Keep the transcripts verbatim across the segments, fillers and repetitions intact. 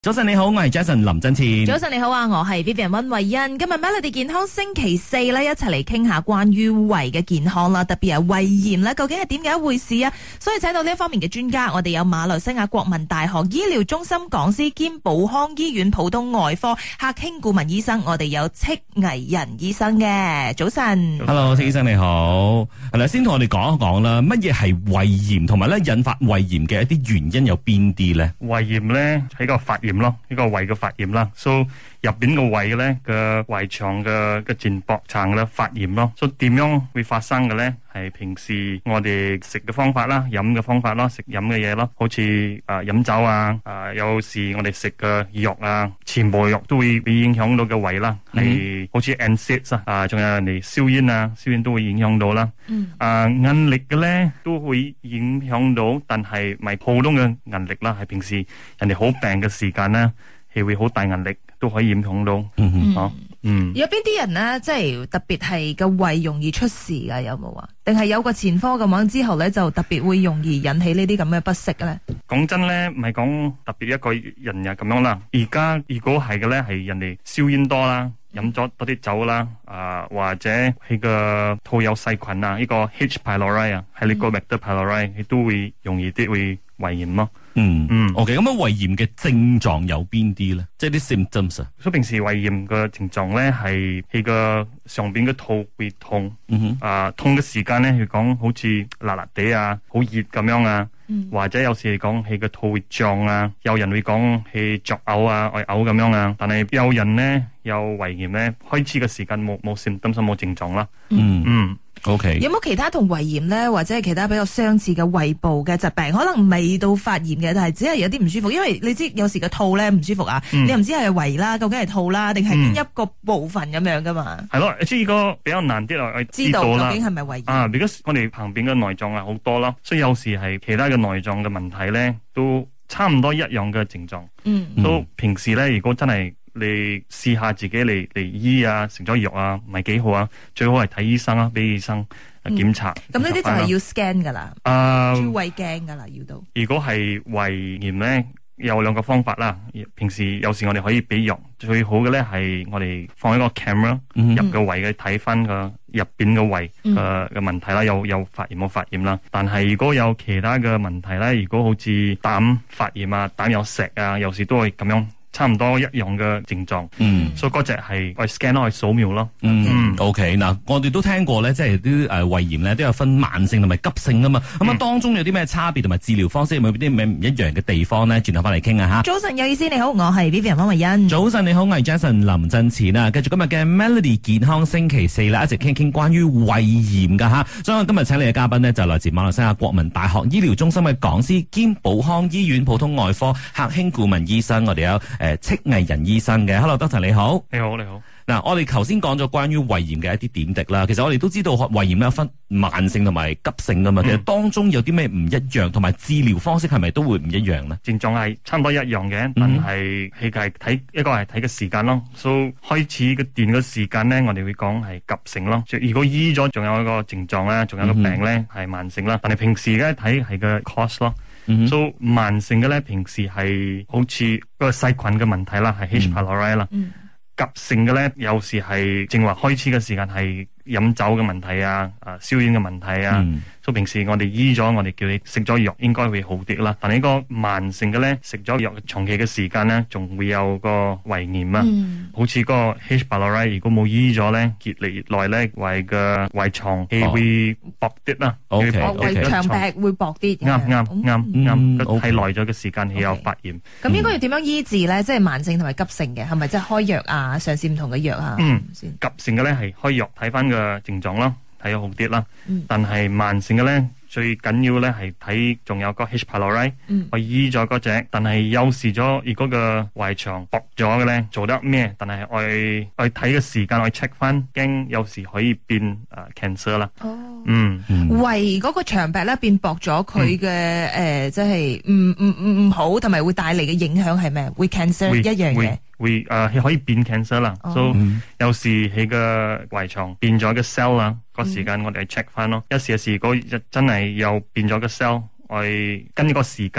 早晨你好，我係 Jason 林振前。 早晨你好啊，我係 Vivian 溫慧欣。今日 Melody 健康星期四咧，一齊嚟傾下關於胃嘅健康啦，特別係胃炎咧，究竟係點解一回事啊？所以請到呢一方面嘅專家，我哋有馬來西亞國民大學醫療中心講師兼寶康醫院普通外科客興顧問醫生，我哋有戚毅仁醫生嘅。早晨 ，Hello， 戚醫生你好。係啦，先同我哋講一講啦，乜嘢係胃炎，同埋咧引發胃炎嘅一啲原因有邊啲咧？ 胃炎咧係個發炎咯，呢個胃嘅發炎啦，所以入邊個胃嘅咧嘅胃腸嘅嘅前薄層咧發炎咯，所以點樣會發生嘅咧？係平時我哋食嘅方法啦，飲嘅方法咯，食飲嘅嘢咯，好似誒飲酒啊，誒有時我哋食嘅藥啊，全部藥都會會影響到嘅胃啦，係、mm-hmm. 好似 N SAIDs 啊，啊仲有人哋燒煙啊，燒煙都會影響到啦，嗯、mm-hmm. 啊壓力嘅咧都會影響到，但係唔係普通嘅壓力啦，係平時人哋好病嘅時間咧，係會好大壓力，都可以影響到，嗯哼，哦，嗯， 有邊啲人咧，即係特別係個胃容易出事噶？有冇啊？定係有個前科咁樣之後咧，就特別會容易引起呢啲咁嘅不適咧？ 講真咧，唔係講特別一個人呀咁樣啦。而家如果係嘅咧，係人哋燒煙多啦，飲咗多啲酒啦，啊、呃、或者佢個肚有細菌啊，呢、這個 H pylori 啊，係呢個 Helicobacter pylori，佢都會容易啲會胃炎咯。 嗯嗯，OK，咁樣胃炎嘅症狀有邊啲咧？即係啲 symptoms 啊。所以平時胃炎嘅症狀咧，係佢個上邊嘅肚會痛，嗯哼，啊、呃、痛嘅時間咧，佢講好似辣辣地啊，好熱咁樣啊，嗯、或者有時講佢個肚會脹啊，有人會講佢作嘔啊，愛嘔咁樣啊，但係有人咧有胃炎咧，開始嘅時間冇冇 symptoms 冇症狀啦，嗯嗯。 OK， 有冇其他同胃炎咧，或者係其他比較相似嘅胃部嘅疾病？可能未到發炎嘅，但係只係有啲唔舒服。因為你知有時個肚咧唔舒服啊，嗯、你又唔知係胃啦，究竟係肚啦，定係邊一個部分咁樣噶嘛？係、 嗯、咯，即係呢個比較難啲咯，我知道啦。 究竟係咪胃炎啊？because我哋旁邊嘅內臟係好多咯，所以有時係其他嘅內臟嘅問題咧，都差唔多一樣嘅症狀。嗯，都平時咧，如果真係你試下自己嚟嚟醫啊，食咗藥啊，唔係幾好啊，最好係睇醫生啊，俾醫生檢查。 咁呢啲就係要 scan 噶啦， 啊， 照胃鏡噶啦，要到。 如果係胃炎咧，有兩個方法啦。平時有時我哋可以俾藥，最好嘅咧係我哋放一個 camera、嗯、入個胃嘅睇翻個入邊個胃嘅嘅、嗯、問題啦，有有發炎冇發炎啦。但係如果有其他嘅問題咧，如果好似膽發炎啊、膽有石啊，有時都會咁樣。差唔多一樣嘅症狀，嗯，所以嗰隻係我 scan 咯，去掃描咯， 嗯 ，OK，嗱，我哋都聽過咧，即係啲誒胃炎咧都有分慢性同埋急性噶嘛，咁、嗯、啊當中有啲咩差別同埋治療方式有冇啲咩唔一樣嘅地方咧？轉頭翻嚟傾下吓。 早晨有意思，你好，我係 Vivian 方慧欣。 早晨你好，我係 Jason 林振前啊，繼續今日嘅 Melody 健康星期四啦，一直傾傾關於胃炎噶吓，所以我今日請嚟嘅嘉賓呢，就來自馬來西亞國民大學醫療中心嘅講師兼寶康醫院普通外科客興顧問醫生，我哋有。誒，戚毅仁醫生嘅 ，Hello，Doctor 你好， 你好你好。 嗱，我哋頭先講咗關於胃炎嘅一啲點滴啦，其實我哋都知道胃炎咧分慢性同埋急性噶嘛、嗯，其實當中有啲咩唔一樣，同埋治療方式係咪都會唔一樣咧？ 症狀係差唔多一樣嘅，但係佢係睇一個係睇個時間咯，所以開始嘅段嘅時間咧，我哋會講係急性咯。如果醫咗，仲有一個症狀咧，仲有一個病咧係、嗯、慢性啦，但係平時咧睇係個 cost 咯。嗯、所以慢性嘅咧，平時係好似個細菌嘅問題啦，係 H pylori 啦。急性嘅咧，有時係正話開始嘅時間係飲酒嘅問題啊，啊燒煙嘅問題啊。嗯所以平時我哋醫咗，我哋叫你食咗藥應該會好啲啦。但係呢個慢性嘅咧，食咗藥長期嘅時間咧，仲會有個胃炎啊。嗯、好似個 H pylori，如果冇醫咗咧，越嚟越耐咧，胃嘅胃腸氣會薄啲啦。 O K， 胃腸壁會薄啲。 啱啱啱啱，太耐咗嘅時間係有發炎。 咁、okay. 應該要點樣醫治咧？即係慢性同埋急性嘅，係咪即係開藥啊？嘗試唔同嘅藥啊？ 嗯，急性嘅咧係開藥睇翻個症狀咯。睇好啲啦，但係慢性嘅咧，最緊要咧係睇仲有個 H pylori，我醫咗嗰隻，但係有時咗，如果個胃腸薄咗嘅咧，做得咩？但係我我睇嘅時間我 check 翻，驚有時可以變誒、uh, cancer 啦。哦，嗯， 胃嗰個腸壁咧變薄咗，佢嘅誒即係唔唔唔唔好，同埋會帶嚟嘅影響係咩？會 cancer 一樣嘅。 會誒，佢、呃、可以變 cancer 啦，所、oh. 以、so, 有時佢個胃腸變咗個 cell 啦，個時間我哋 check 翻咯。一時有時如果真係又變咗個 cell，我跟呢個時間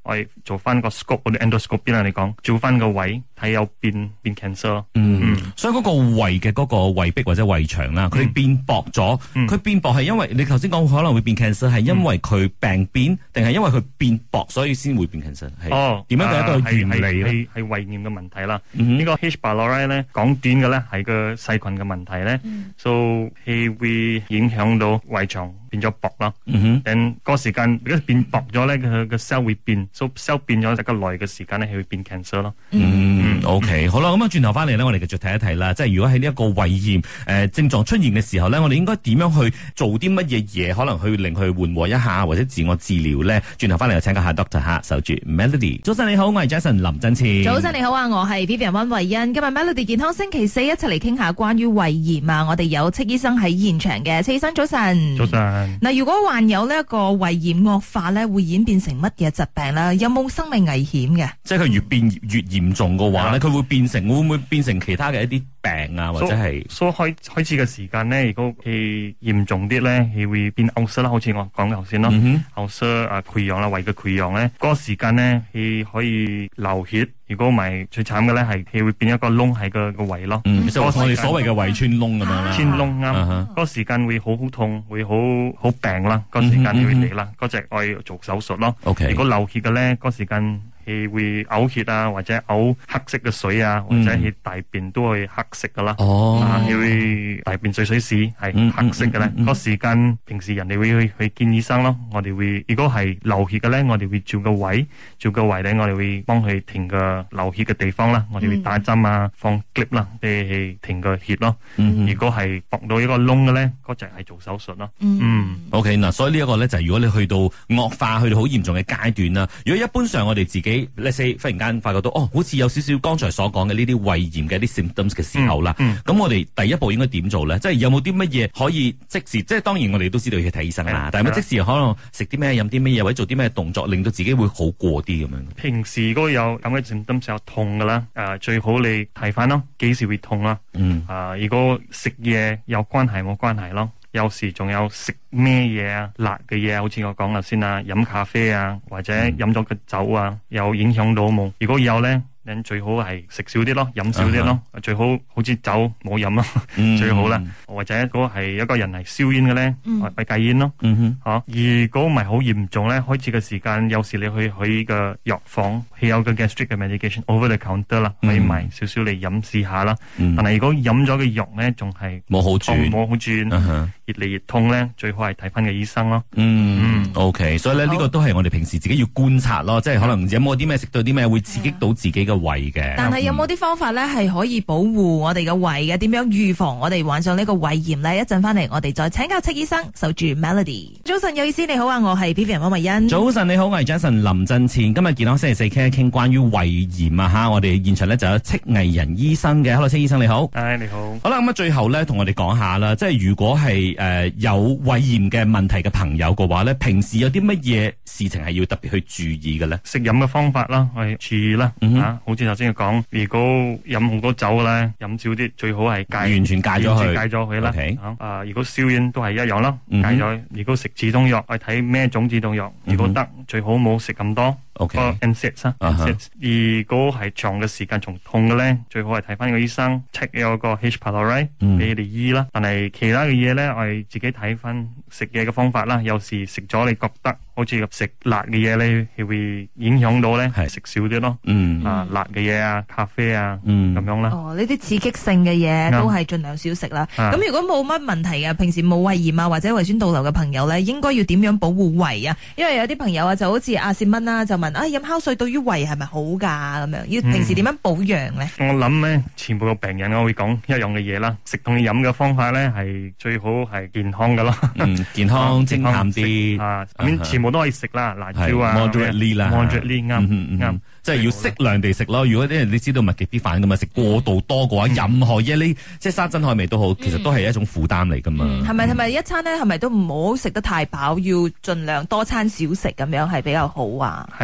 我哋做翻個 scope 嗰啲 endoscope 邊啦，你講照翻個胃睇有變變 cancer。 嗯，嗯所以嗰個胃嘅嗰個胃壁或者胃腸啦，佢變薄咗，佢、嗯、變薄係因為你頭先講可能會變 cancer， 係因為佢病變，定係因為佢變薄所以先會變 cancer？ 哦， 點樣嘅一個原理咧？ 係係胃炎嘅問題啦。 嗯、 呢個 H. pylori 咧講短嘅咧係個細菌嘅問題咧，所以係會影響到胃腸變咗薄啦。嗯哼，個時間如果變薄咗咧，佢個 cell 會變，所以 cell 變咗一個耐嘅時間咧，係會變 cancer 咯。 嗯 ，OK， 好啦，咁啊轉頭翻嚟咧，我哋繼續睇一睇啦。即係如果喺呢一個胃炎誒、呃、症狀出現嘅時候咧，我哋應該點樣去做啲乜嘢嘢，可能去令佢緩和一下，或者自我治療咧？轉頭翻嚟就請教下 Doctor 吓，守住 Melody。早晨你好，我係 Jason 林振前。 早晨你好啊，我係 Vivian 溫慧欣。今日 Melody 健康星期四一齊嚟傾下關於胃炎啊！我哋有戚醫生喺現場嘅，戚醫生早晨。 早晨。 嗱，如果患有呢一個胃炎惡化咧，會演變成乜嘢疾病咧？有冇生命危險嘅？即係佢越變越嚴重嘅話咧，佢、嗯、會變成會唔會變成其他嘅一啲病啊，或者係？所以開開始嘅時間咧，如果係嚴重啲咧，係會變嘔塞啦，好似我講頭先咯，嘔塞啊潰瘍啦，胃嘅潰瘍咧，嗰、那個時間咧係可以流血。如果唔係最慘嘅咧，係係會變一個窿喺個個胃咯。嗯，即係我哋所謂嘅胃穿窿咁樣啦。穿窿啱，嗰個時間會好好痛，會好好病啦。嗰個時間會嚟啦，嗰隻我要做手術咯。OK，如果流血嘅咧，嗰個時間係會嘔血啊，或者嘔黑色嘅水啊，或者係大便都係黑色噶啦。哦，係會大便水水屎係黑色嘅咧。嗰個時間平時人哋會去去見醫生咯。我哋會如果係流血嘅咧，我哋會照個胃，照個胃咧，我哋會幫佢停個流血嘅地方啦，我哋會打針啊，放 clip 啦，嚟停個血咯。嗯、如果係搏到一個窿嘅咧，嗰隻係做手術咯。嗯 ，OK 嗱，所以呢一個咧就係如果你去到惡化，去到好嚴重嘅階段啦。如果一般上我哋自己 let's say 忽然間發覺到哦，好似有少少剛才所講嘅呢啲胃炎嘅啲 symptoms 嘅時候啦，咁、嗯嗯、我哋第一步應該點做咧？即係有冇啲乜嘢可以即時？即係當然我哋都知道要去睇醫生啦，但係咪即時可能食啲咩、飲啲咩嘢，或者做啲咩動作，令到自己會好過啲咁樣？平時如果有咁嘅 symptoms 有痛噶啦，誒、呃、最好你睇翻咯，幾時會痛啦？嗯，啊、呃、如果食嘢有關係冇關係咯，有時仲有食咩嘢啊，辣嘅嘢，好似我講啦先啊，飲咖啡啊，或者飲咗個酒啊，有影響到冇？如果有咧，你最好係食少啲咯，飲少啲咯， uh-huh. 最好好似酒冇飲咯，最好啦。或者如果係一個人係燒煙嘅咧，咪戒煙咯。吓、嗯啊，如果唔係好嚴重咧，開始嘅時間有時你去去個藥房，係有個 gastric 嘅 medication over the counter 啦，可以買少少嚟飲試下啦。但係如果飲咗嘅藥咧，仲係冇好轉，冇好轉，越嚟越痛咧，最好係睇翻個醫生咯。嗯，嗯 OK， 所以咧呢、這個都係我哋平時自己要觀察咯，即係可能有冇啲咩食到啲咩會刺激到自己嘅胃嘅。但係有冇啲方法咧係可以保護我哋嘅胃嘅？點樣預防我哋患上呢個胃炎咧？一陣翻嚟我哋再請教戚醫生，守住 Melody。早晨有意思，你好啊，我係 Vivian 溫慧欣。早晨你好，我係 Jason 林振前。今日健康星期四傾一傾關於胃炎啊吓，我哋現場咧就有戚毅人醫生嘅。Hello， 戚醫生你好。誒你好。好啦，咁啊最後咧同我哋講下啦，即係如果係誒、呃、有胃炎嘅問題嘅朋友嘅話咧，平時有啲乜嘢事情係要特別去注意嘅咧？食飲嘅方法啦，係注意啦、嗯啊、好似頭先講，如果飲好多酒咧，飲少啲，最好係戒，完全戒咗佢，戒咗佢啦。Okay. 啊，啊，如果燒煙都係一樣啦，戒咗、嗯。如果食止痛藥，去睇咩種止痛藥、嗯。如果得，最好冇食咁多。OK， 個 N SAIDs 啊 ，N SAIDs。如果係長嘅時間仲痛嘅咧，最好係睇翻個醫生 check 有個 H. pylori 俾你哋醫啦。但係其他嘅嘢咧，我哋自己睇翻食嘢嘅方法啦。有時食咗你覺得好似食辣嘅嘢咧，係會影響到咧，係食少啲咯。嗯，啊辣嘅嘢啊，咖啡啊，嗯，咁樣啦。哦，呢啲刺激性嘅嘢都係盡量少食啦。咁、啊、如果冇乜問題嘅，平時冇胃炎啊或者胃酸倒流嘅朋友咧，應該要點樣保護胃啊？因為有啲朋友啊，就好似阿善蚊啦，就問啊，飲酵素對於胃係咪好噶？咁樣要平時點樣保養咧、嗯？我諗咧，全部嘅病人我會講一樣嘅嘢啦。食同飲嘅方法咧，係最好係健康噶咯。嗯，健康清淡啲啊，咁全部都可以食啦，辣椒啊 ，moderately 啦 ，moderately 啱啱。即係要適量地食咯。如果啲人你知道物極必反噶嘛，食過度多嘅話，嗯、任何嘢你即係山珍海味都好，其實都係一種負擔嚟噶嘛。係咪係咪一餐咧？係咪都唔好食得太飽？要盡量多餐少食咁樣係比較好啊？係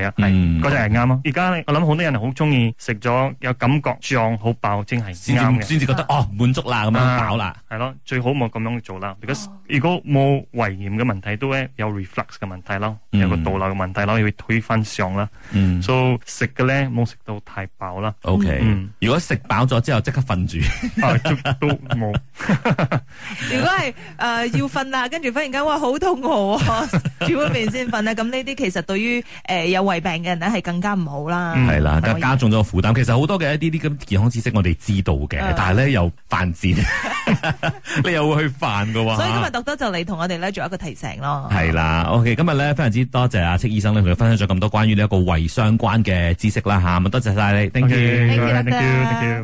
係啊， 嗯係嗰隻係啱咯。而家我諗好多人好中意食咗有感覺脹好飽，正係先啱嘅。 至先至覺得哦滿足啦，咁樣飽啦。 係咯，最好冇咁樣做啦。如果如果冇胃炎嘅問題，都咧有 reflux 嘅問題咯，有個倒流嘅問題咯，要推翻上啦。 嗯， 所以食嘅咧冇食到太飽啦。 O K， 嗯如果食飽咗之後即刻瞓住， 啊都都冇。 如果係誒、呃、要瞓啦，跟住忽然間哇好肚餓喎，煮碗麵先瞓咧，咁呢啲其實對於誒、呃、有胃病嘅人咧係更加唔好啦。 係啦， 可以加加重咗個負擔。其實好多嘅一啲啲咁健康知識我哋知道嘅， 嗯但係咧又犯賤，你又會去犯㗎喎。 所以今日特登就嚟同我哋咧做一個提醒咯。 係啦，OK，今日咧非常之多謝阿戚醫生咧，同佢分享咗咁多關於呢一個胃相關嘅知識啦吓，咁多謝晒你，thank you。 Okay, Thank you, thank you, Doctor thank you.